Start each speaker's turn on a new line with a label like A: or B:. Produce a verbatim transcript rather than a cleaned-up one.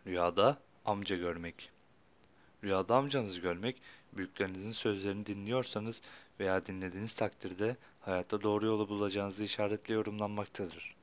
A: Rüyada amca görmek. Rüyada amcanızı görmek, büyüklerinizin sözlerini dinliyorsanız veya dinlediğiniz takdirde hayatta doğru yolu bulacağınızı işaretle yorumlanmaktadır.